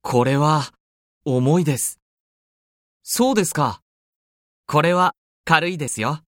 これは、重いです。そうですか。これは、軽いですよ。